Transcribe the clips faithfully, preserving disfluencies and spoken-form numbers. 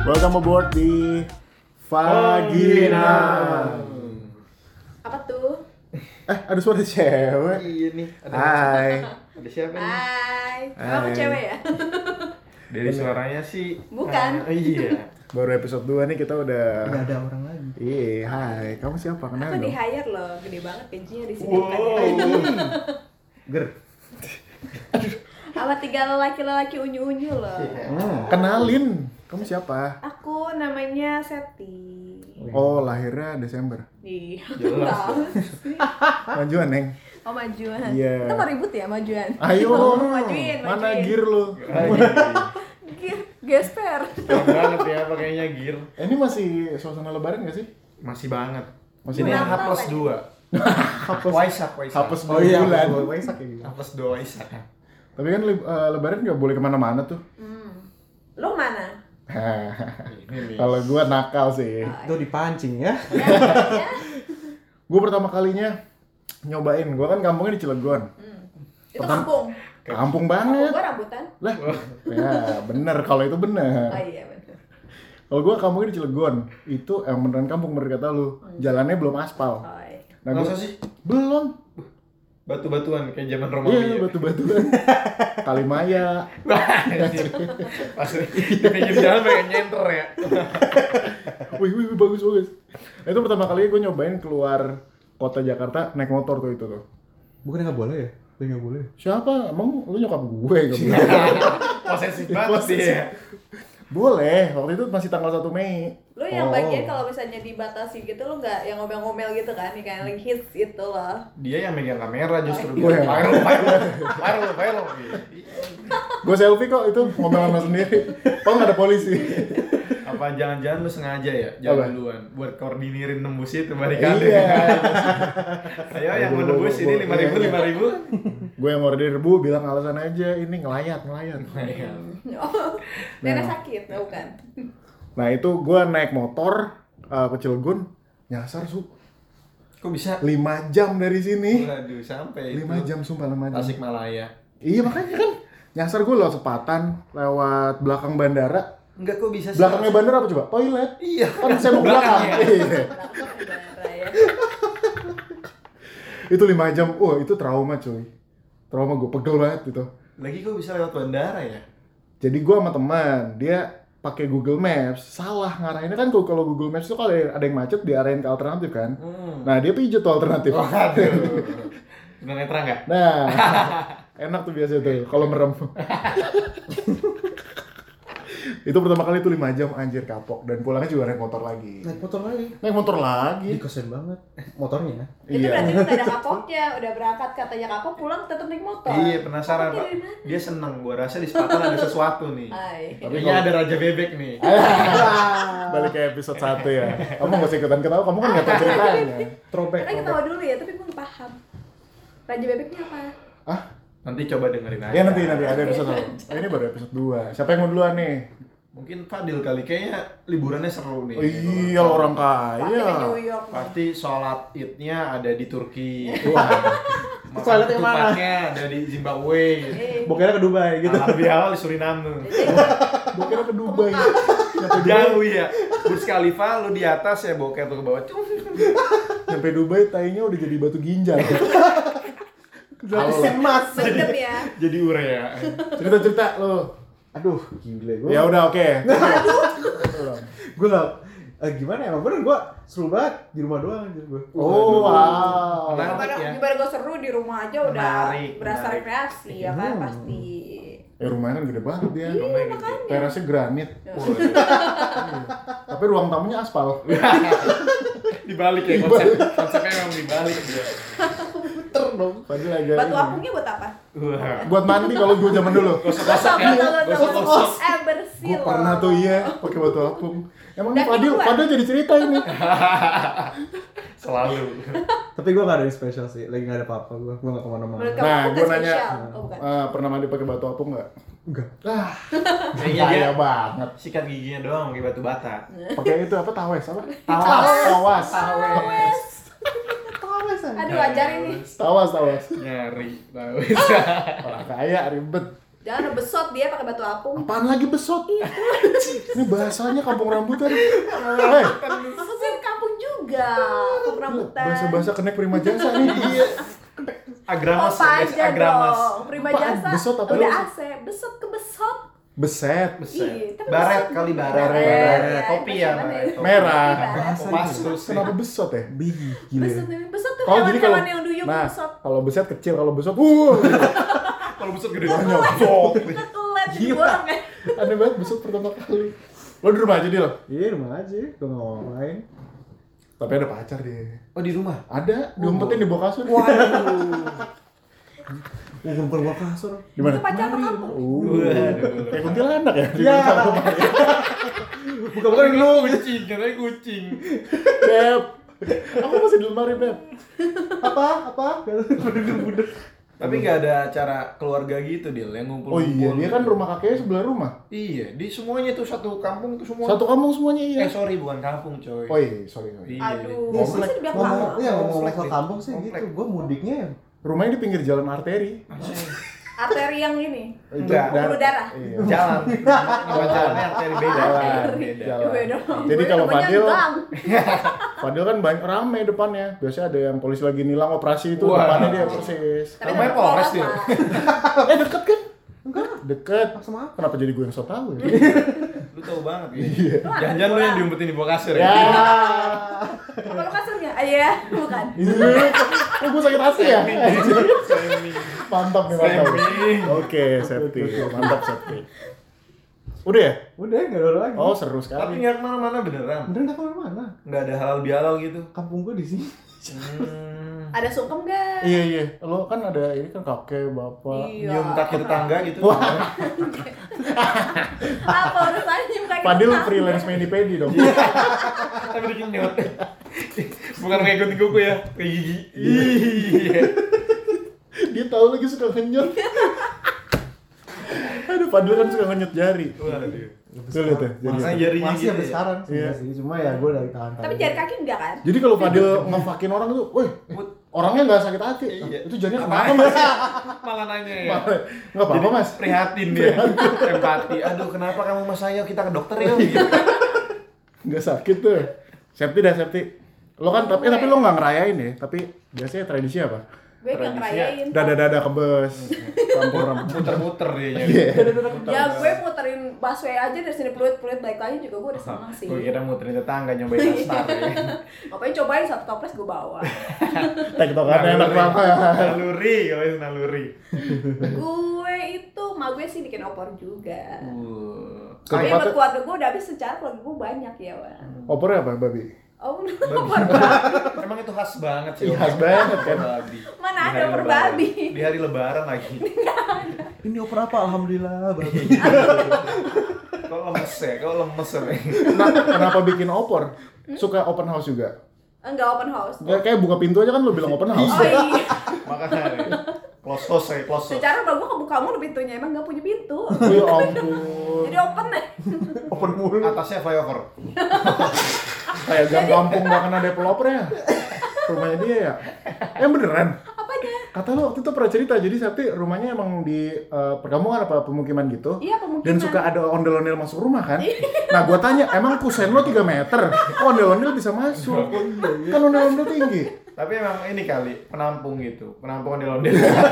Welcome aboard di Vagina. Apa tuh? Eh, ada suara cewek. Iya nih. Ada Hai. Ada siapa nih? Hai. Hai. Kamu cewek ya? Dari suaranya sih. Bukan. Ah, iya. Baru episode dua nih kita udah. Nggak ada orang lagi. Iya, hai. Kamu siapa? Kenal Aku di dong. hire loh, gede banget gajinya di sini. Wow. Bukan ya? Ger. Sama tiga lelaki-lelaki unyu-unyu loh. Hmm, kenalin. Kamu siapa? Aku namanya Seti. Oh, lahirnya Desember. Iya. Jelas. Tahu sih. Majuan, Neng. Oh majuan. Iya. Kita mau ribut ya majuan. Ayo. Oh, majuin, Mana majuin. gear lu? Gear, gesper. Keren banget ya pakainya gear. Eh, ini masih suasana lebaran gak sih? Masih banget. Masih Ini Kenapa H plus tadi? dua. Waisak, Waisak. Hapus Oh dua iya, bulan. Waisak ya gitu. H plus dua Waisak. Tapi kan li- eh, lebaran gak boleh kemana-mana tuh. Hmm. Lu mana? Ini nih. Kalau gua nakal sih. Itu dipancing ya. Ya, ya. Gue pertama kalinya nyobain, gue kan kampungnya di Cilegon. Hmm. Itu Pertama- kampung. Kampung Kampung banget. gua rambutan. Lah, ya bener kalau itu bener. Oh iya benar. Kalau gue kampungnya di Cilegon, itu yang beneran kampung bener kata lu. Jalannya belum aspal. Oh iya. Nah, Masa gua- sih? Belum. Batu-batuan kayak zaman Romawi. Iya, ya? batu-batuan. Kalimaya. Pas di pinggir jalan pengen nyenter ya. Wih, wih, wih, bagus, bagus. Nah, itu pertama kali gue nyobain keluar kota Jakarta naik motor tuh itu tuh. Bukannya nggak boleh ya? Boleh nggak boleh? Siapa? Emang lu nyokap gue? Gak boleh. Posesif banget dia. Boleh, waktu itu masih tanggal satu Mei. Lu yang Oh. bagian kalau misalnya dibatasi gitu lu nggak yang ngomel-ngomel gitu kan, yang kayak lagi hits gitu loh. Dia yang megang kamera justru. Gue yang- Viral, viral, viral, viral. Gue selfie kok itu ngomel sama sendiri. Kok nggak ada polisi? Apa jangan-jangan lu sengaja ya jalan Apa? duluan buat koordinirin nembus itu barikade. Iya. Ayo yang mau nembus ini lima ribu lima ribu. Gue yang order bu bilang alasan aja ini ngelayat ngelayat. Oh, nenek Nah. sakit, nggak bukan? Nah itu gue naik motor uh, ke Cilegon nyasar su Kok bisa? lima jam dari sini. Waduh, sampai lima itu. jam sumpah lima jam. Tasikmalaya. Iya makanya kan nyasar gue lewat Sepatan, lewat belakang bandara. Enggak kok bisa sih. Belakangnya bandara apa coba? Toilet. Iya. Kan saya mau belakang. Belakangnya. Iya. Darah ya. Itu lima jam. Wah itu trauma cuy. Trauma gue pegel banget gitu. Lagi kok bisa lewat bandara ya? Jadi gue sama teman, dia pakai Google Maps, salah ngarahinnya kan kalau kalau Google Maps itu kalau ada yang macet diarahin ke alternatif kan. Hmm. Nah dia pijet tuh alternatif. Waduh. Bener netra enggak? Nah enak tuh biasa tuh kalau merem. Itu pertama kali tuh lima jam anjir kapok dan pulangnya juga naik motor lagi. Naik motor lagi. Naik motor lagi. Ih, kesen banget motornya. Itu Iya. berarti udah ada kapoknya, udah berangkat katanya kapok, pulang tetap naik motor. Iya, penasaran, Kapoknya Pak. dari mana? Dia seneng, gua rasa di Sepatan ada sesuatu nih. Ay. Kayaknya ada Raja Bebek nih. Balik ke episode satu ya. Kamu gak usah ikutan ketawa, kamu kan gak tau ceritanya. Throwback. Kita ketawa dulu ya, tapi gue nggak paham. Raja bebeknya apa? Ah, Nanti coba dengerin aja. ya nanti nanti ada episode satu. Ini baru episode dua. Siapa yang mau duluan nih? Mungkin Fadil kali, kayaknya liburannya seru nih. Oh, iya orang Pasti ke kaya. New York. Pasti sholat idnya ada di Turki. Wah, Makan Sholat yang mana? ketupatnya ada di Zimbabwe. Eh, Bokernya ke Dubai gitu. Halal bihalal di Suriname. gue kira ke Dubai. Nyampe Dubai, Jauh ya. Burj Khalifa lu di atas ya boker tuh ke bawah. nyampe Dubai tainya udah jadi batu ginjal. Gratis emas. Mendem ya. Jadi urea. Cerita-cerita lo. Aduh, gila gue. Ya udah oke. Gue nggak. Eh, gimana ya? Emang bener gue seru banget di rumah doang aja gue. Oh wow. Menarik Gimana, ya. gimana gue seru di rumah aja udah Menarik, berasa menarik. rekreasi ya kan Hmm. pasti. Eh rumahnya kan gede banget dia. Rumahnya gede. Terasnya granit. Waduh. Tapi ruang tamunya aspal. Dibalik ya konsep konsepnya memang dibalik dia. Puter dong. Padahal agak Batu ini. apungnya buat apa? Wah. Buat mandi kalau gue zaman dulu. Gosok-gosok ya. Betul, betul, betul. Gosok-gosok. Eh bersih Gue loh. pernah tuh iya pakai batu apung. Emang Dan nih Fadil, kedua. Fadil jadi cerita ini. Selalu. Tapi gue nggak ada yang spesial sih. Lagi nggak ada apa-apa gue. Gue nggak kemana-mana. Menurut kamu Nah, itu gue nggak nanya, spesial? Oh, bukan. eh, pernah mandi pakai batu apung nggak? Enggak. Ah, Kayaknya dia kaya banget. sikat giginya doang pakai batu bata. Pakai itu apa tawes apa? Tawas. Tawas. Awes. Tawas aja. Aduh ajarin nih. Tawas, tawas. Nyari tahu. Orang kaya ribet. Jangan besot dia pakai batu apung. Apaan lagi besot? Ini bahasanya kampung rambutan. Hei, Maksudnya kampung juga, kampung rambutan. bahasa-bahasa kenek prima jasa nih. Iya. Agramas, Apa guys, aja agramas. dong, prima Apaan? jasa. Besot apa Udah lu? A C, besot ke besot. Beset. Iya, tapi Baret besot. kali, baret. Baret. Iya, Topi itu ya, mana baret. Topi, Merah. baret. Kopas terus. Kenapa besot ya? Bih, gila. Besot, besot tuh Oh, jadi kalau hewan-hewan yang duyung nah, besot. kalau beset kecil, kalau besot, uh, Kalau besot gede banyak. banget. Kelet di Gila. borong kan. Aneh banget besot pertama kali. Lo di rumah aja dia lo. Iya, rumah aja. Gue nggak mau main. Tapi ada pacar dia. Oh di rumah? Ada, diumpetin di bawah kasur. Oh, bukan gua kasur. Di mana? Itu pacar apa kampung? Uh, Waduh. kayak kuntilanak ya? Iya. Bukan-bukan yang lu. Kucing, katanya kucing. Beb, aku masih di lemari, Beb. Apa? Apa? Budek-budek. Tapi nggak ada acara keluarga gitu Dil, yang Oh ngumpul-ngumpul. iya, dia kan rumah kakeknya sebelah rumah. Iya, di semuanya tuh satu kampung tuh semua. Satu kampung semuanya iya. Eh sorry, bukan kampung coy. Oh iya, sorry, sorry. Iya. Aduh, Komplek. bisa dibilang Ngomong, kampung. iya ngomong Komplek soal deh. kampung sih Komplek. gitu. Gua mudiknya ya. Rumahnya di pinggir jalan arteri. Arteri yang ini. Itu Enggak. dar- Pembuluh darah. Iya. Jalan. Nama jalannya arteri beda. Jalan. Beda. Jalan. Beda. Jadi Gue kalau namanya Fadil, gang. Fadil kan banyak rame depannya. Biasanya ada yang polisi lagi nilang operasi itu Wah. depannya dia persis. Tapi Rumahnya tetap Polres Polres dia. lah. Eh deket kan? Enggak. Deket. Sama apa? Kenapa jadi gue yang so tau ya? Lu tahu banget ya. Jangan-jangan lu yang diumpetin di bawah kasur Ya. ya. Kalau kasurnya, ah, iya, bukan. Ini oh, gue sakit hati ya? Mantap nih, mantap. Framing. Oke, safety. Mantap, safety. Udah ya? Udah, enggak ada lagi. Oh, seru Tapi sekali. nggak kemana-mana beneran. Udah enggak kemana-mana. Nggak ada halal bihalal gitu. Kampung gua di sini. Hmm. Ada sungkem gak? Iya, iya. Lo kan ada ini kan kakek, bapak. Iya. Nyium kaki tetangga gitu. Wah. Apa urusannya nyium kaki Fadil tetangga? freelance mani-pedi dong. Tapi bikin nyot. Bukan kayak gunting kuku ya, kayak gigi. Iya. Dia tahu lagi suka ngenyot. Aduh, Fadil kan suka ngenyot jari. Waduh. Tuh lihat ya. Makanya jari. jarinya Masih gitu sampai ya. sekarang sih, Iya. sih. Cuma ya gua dari tahan. Tapi jari kaki enggak kan? Jadi kalau Fadil ngefakin orang tuh, woi, orangnya nggak sakit hati. Iya. Itu jadinya Apaan? kenapa mas? Malah nanya ya. Nggak apa-apa Jadi mas. prihatin dia. Empati. Aduh, kenapa kamu mas ayo kita ke dokter ya? Gitu. Nggak sakit tuh. Safety dah safety. Lo kan tapi tapi lo nggak ngerayain ya. Tapi biasanya tradisi apa? Gue gak Tradisinya ngerayain. Dada-dada kebes. Kampung rambut. Muter-muter dia nyari. Iya. Ya gue muterin busway aja dari sini peluit-peluit balik lagi juga gue udah seneng sih. Gue kira muterin tetangga nyobain nastar ya. Ngapain cobain satu toples gue bawa. Tektokannya enak banget. Naluri, kalau itu naluri. Gue itu, ma gue sih bikin opor juga. Uh. Tapi Ketupat- buat keluarga gue udah habis secara keluarga gue banyak ya, Wan. Opornya apa, babi? Oh, Babi. Emang itu khas banget sih. Iya, khas banget kan. Babi. Mana Di ada hari opor lebaran. babi? Di hari lebaran lagi. Ini oper apa? Alhamdulillah, bagus. Kok lemes ya? Kok lemes ya? Nah, kenapa bikin opor? Suka open house juga? Enggak open house. Ya, kayak buka pintu aja kan lo bilang open house. Oh iya. Makanya close house ya, close house. Secara rumah gue kebuka mulu pintunya, emang gak punya pintu. Ya ampun. Jadi open deh. Open mulu. Atasnya flyover. Kayak gang kampung gak kena developernya. Rumahnya dia ya. Yang beneran. Apanya? Kata lo waktu itu pernah cerita, jadi Septi rumahnya emang di eh, perkampungan apa pemukiman gitu. Iya, pemukiman. Dan suka ada ondel-ondel masuk rumah kan. Nah gua tanya, emang kusen lo tiga meter? Kok ondel-ondel bisa masuk? Kan ondel-ondel tinggi. Tapi emang ini kali penampung gitu, penampung ondel-ondel.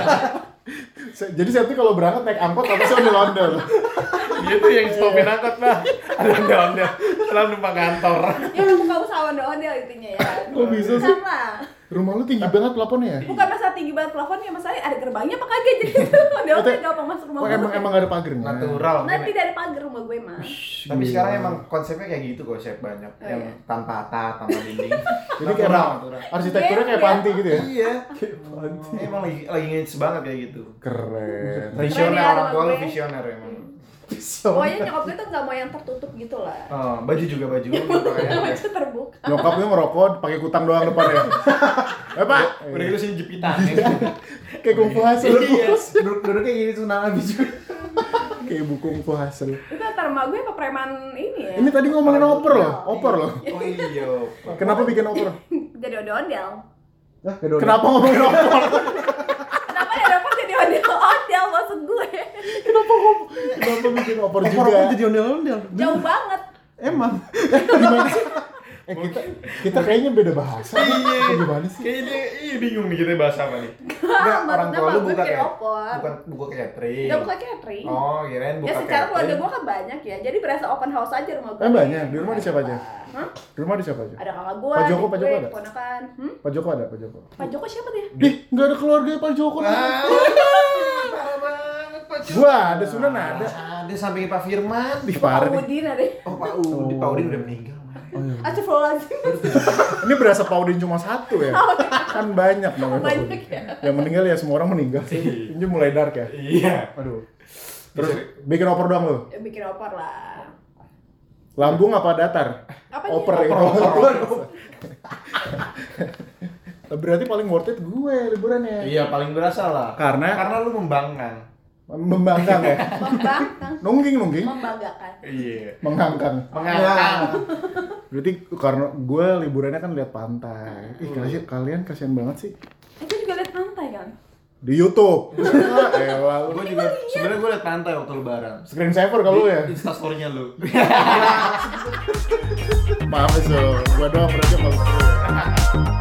Se- Jadi Septi kalau berangkat naik angkot apa sih ondel-ondel? Dia tuh yang stopin angkot lah. Ada ondel-ondel. Lalu numpang kantor. Ya kan buka usaha ondel-ondel intinya ya. Kok bisa sih? Sama. Rumah lu tinggi banget plafonnya ya? Bukan masalah tinggi banget plafonnya, masalahnya ada gerbangnya apa kagak jadi ondel-ondel gampang masuk rumah Oh, gue. emang emang gak ada pagernya? Natural. Nah, mungkin. tidak ada pagar rumah gue mah. Tapi sekarang emang konsepnya kayak gitu kok, chef banyak Oh, yang iya. tanpa atap, tanpa dinding. Jadi kayak emang arsitekturnya kayak Iya, panti gitu ya? Iya. Emang lagi lagi ngehits banget kayak gitu. Keren. Visioner, ya, orang tua lu rumah gue. visioner emang. Pokoknya nyokap gue tuh gak mau yang tertutup gitu lah. Oh, baju juga baju. Yang itu terbuka. Nyokapnya ngerokok pakai kutang doang depannya. Eh pak, Udah gitu sini jepitan ya. kayak kungfu hasil. Iya. Duduk duduk kayak gini sunang habis juga. Kayak buku kungfu hasil. Itu antar emak gue apa preman ini ya? Ini tadi ngomongin opor loh, opor loh. Oh iya. Kenapa bikin opor? Jadi ondel-ondel. Nah, kedua. Kenapa ngomongin opor? Kenapa ya dapat jadi ondel-ondel maksud gue? Kenapa kok? Kenapa bikin opor juga? Opor-opor jadi ondel-ondel. Jauh banget. Emang. Gimana sih? Eh kita kita kayaknya beda bahasa. Iya. Gimana sih? Kayaknya dia iya bingung nih kita bahasa apa nih. Enggak, orang tua lu buka kayak opor. bukan buka catering. Enggak buka catering. Oh, kirain buka Ya secara catering. keluarga gua kan banyak ya, jadi berasa open house aja rumah gua. Eh banyak. Di rumah ada siapa aja? Hah? Di rumah ada siapa aja? Ada kakak gua, Pak Joko, adik Pak Joko gue, ada? ponakan. Hmm? Pak Joko ada, Pak Joko. Pak Joko siapa dia? Ih, nggak ada keluarga Pak Joko. Wah, parah banget Pak Joko. Gua ada, Sunan ada. Ada sampingnya Pak Firman. Di Pak parah nih. Udin ada. Oh, Pak Udin, Pak Udin udah meninggal. Oh, iya. Astagfirullahaladzim. Ini berasa Paudin cuma satu ya? Kan banyak dong. Banyak ya. Yang meninggal ya semua orang meninggal sih. Ini mulai dark ya. Iya. Aduh. Terus bikin oper doang lu? Ya, bikin opor lah. Lambung apa datar? Apa Oper nih? ya. Oper, Berarti paling worth it gue liburannya. Iya, paling berasa lah. Karena Karena lu membangkang. membangkang ya. Membangkang. Nungging nungging. Membanggakan. Iya. Mengangkang. Mengangkang. Berarti karena gue liburannya kan lihat pantai. Ih, kalian kalian kasihan banget sih. Itu juga lihat pantai kan? Di YouTube. Ah, elah lu. Gue juga sebenarnya gue liat pantai waktu lebaran. Screen saver kalau lu ya. Insta story-nya lu. Maaf ya, so. Gua doang berarti kalau